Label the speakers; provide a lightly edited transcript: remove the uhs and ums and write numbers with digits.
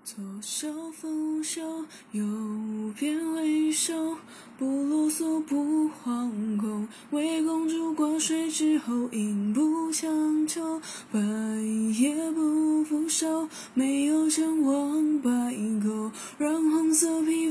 Speaker 1: 左手拂袖，右边为首，不啰嗦不惶恐，为公主挂水之后，应不强求，半夜不拂手，没有前往白沟，让红色皮